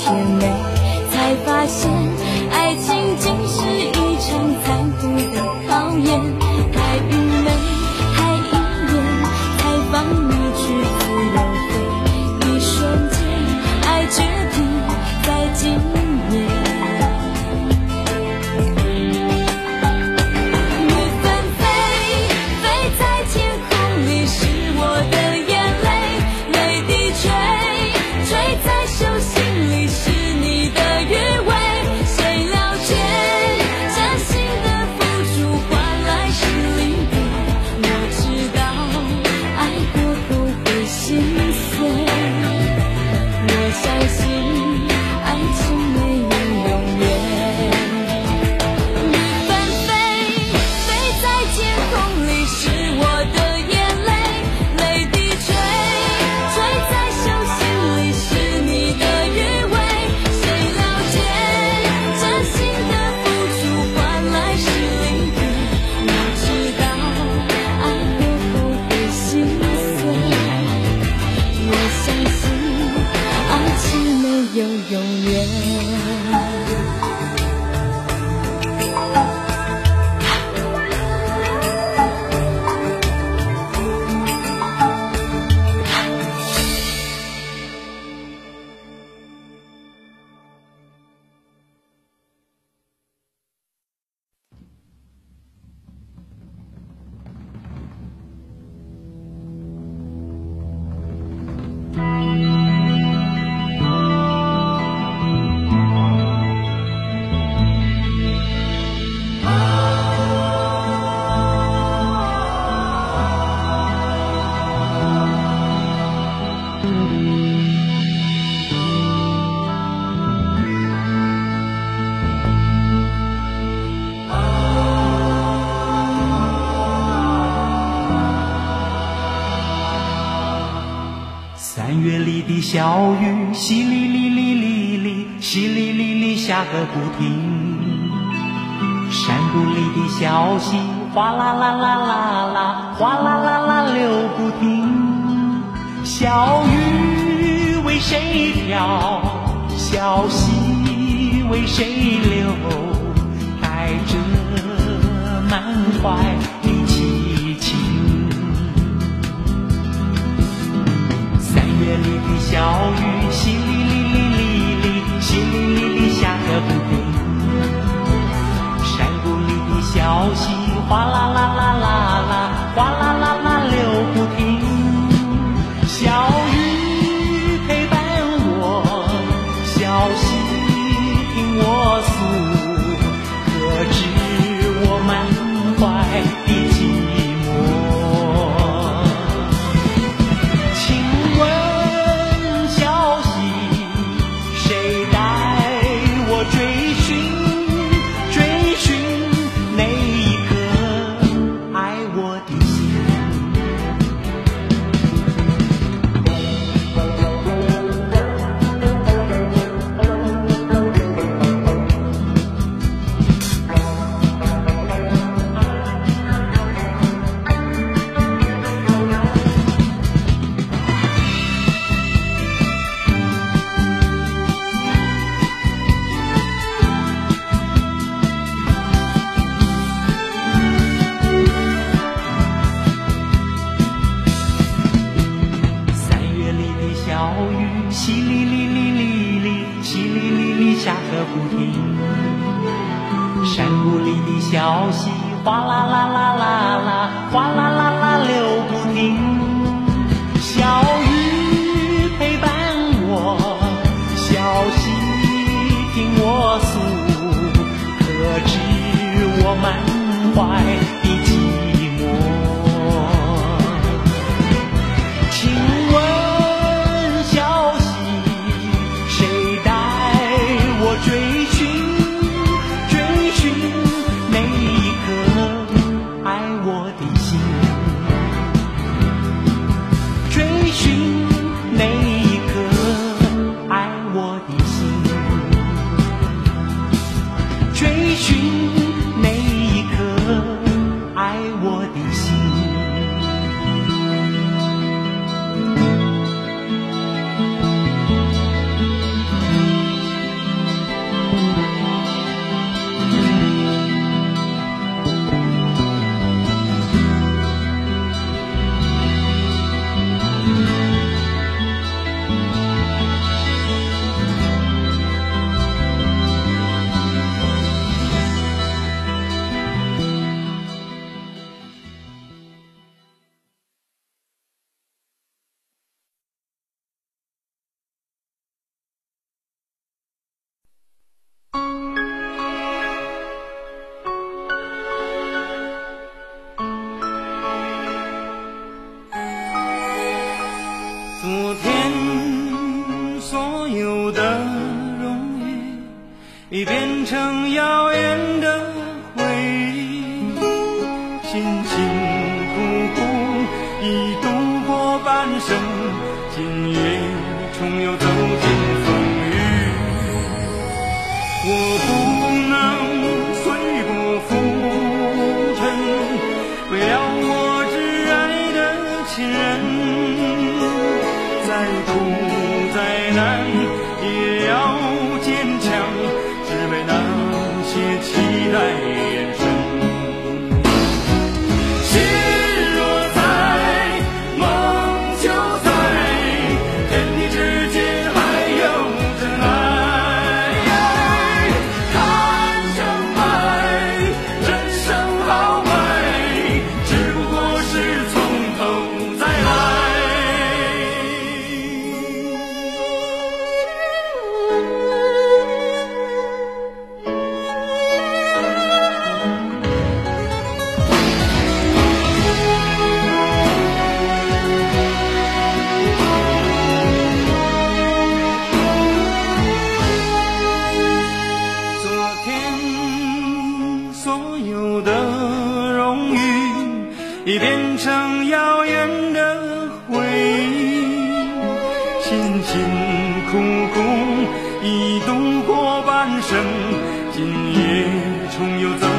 甜美，才发现爱情竟是一场残酷的考验。太愚昧，太依恋，才放你去自由飞。一瞬间，爱决定在今夜。 3月里的小雨，淅沥沥沥沥沥，淅沥沥沥下个不停。山谷里的小溪，哗啦啦啦啦啦，哗啦啦啦流不停。小雨为谁飘，小溪为谁流，带着满怀的激情。3月里的小雨，淅沥沥沥沥沥，淅沥沥沥下个不停。山谷里的小溪，哗啦啦啦啦啦，哗啦啦啦流不停。小雨陪伴我，小溪听我诉，可知我满怀的寂寞。请问小溪，谁带我追寻追寻那一颗爱我的心？小雨淅沥沥沥沥沥，淅沥沥沥下个不停。山谷里的小溪，哗啦啦啦啦啦，哗啦啦啦流不停。小雨陪伴我，小溪听我诉，可知我满怀的寂寞。请问追寻追寻那一颗爱我的心，追寻有的荣誉已变成遥远的回忆，辛辛苦苦已度过半生，今夜重又走进风雨。我不能随波浮沉，为了我挚爱的亲人，再苦再难也要坚强，只为那些期待眼神。心若在，梦就在，天地之间还有真爱。看成败，人生豪迈，只不过是从头再来。昨天所有的荣誉已变成遥远的回忆，辛辛苦苦已度过半生，今夜重又走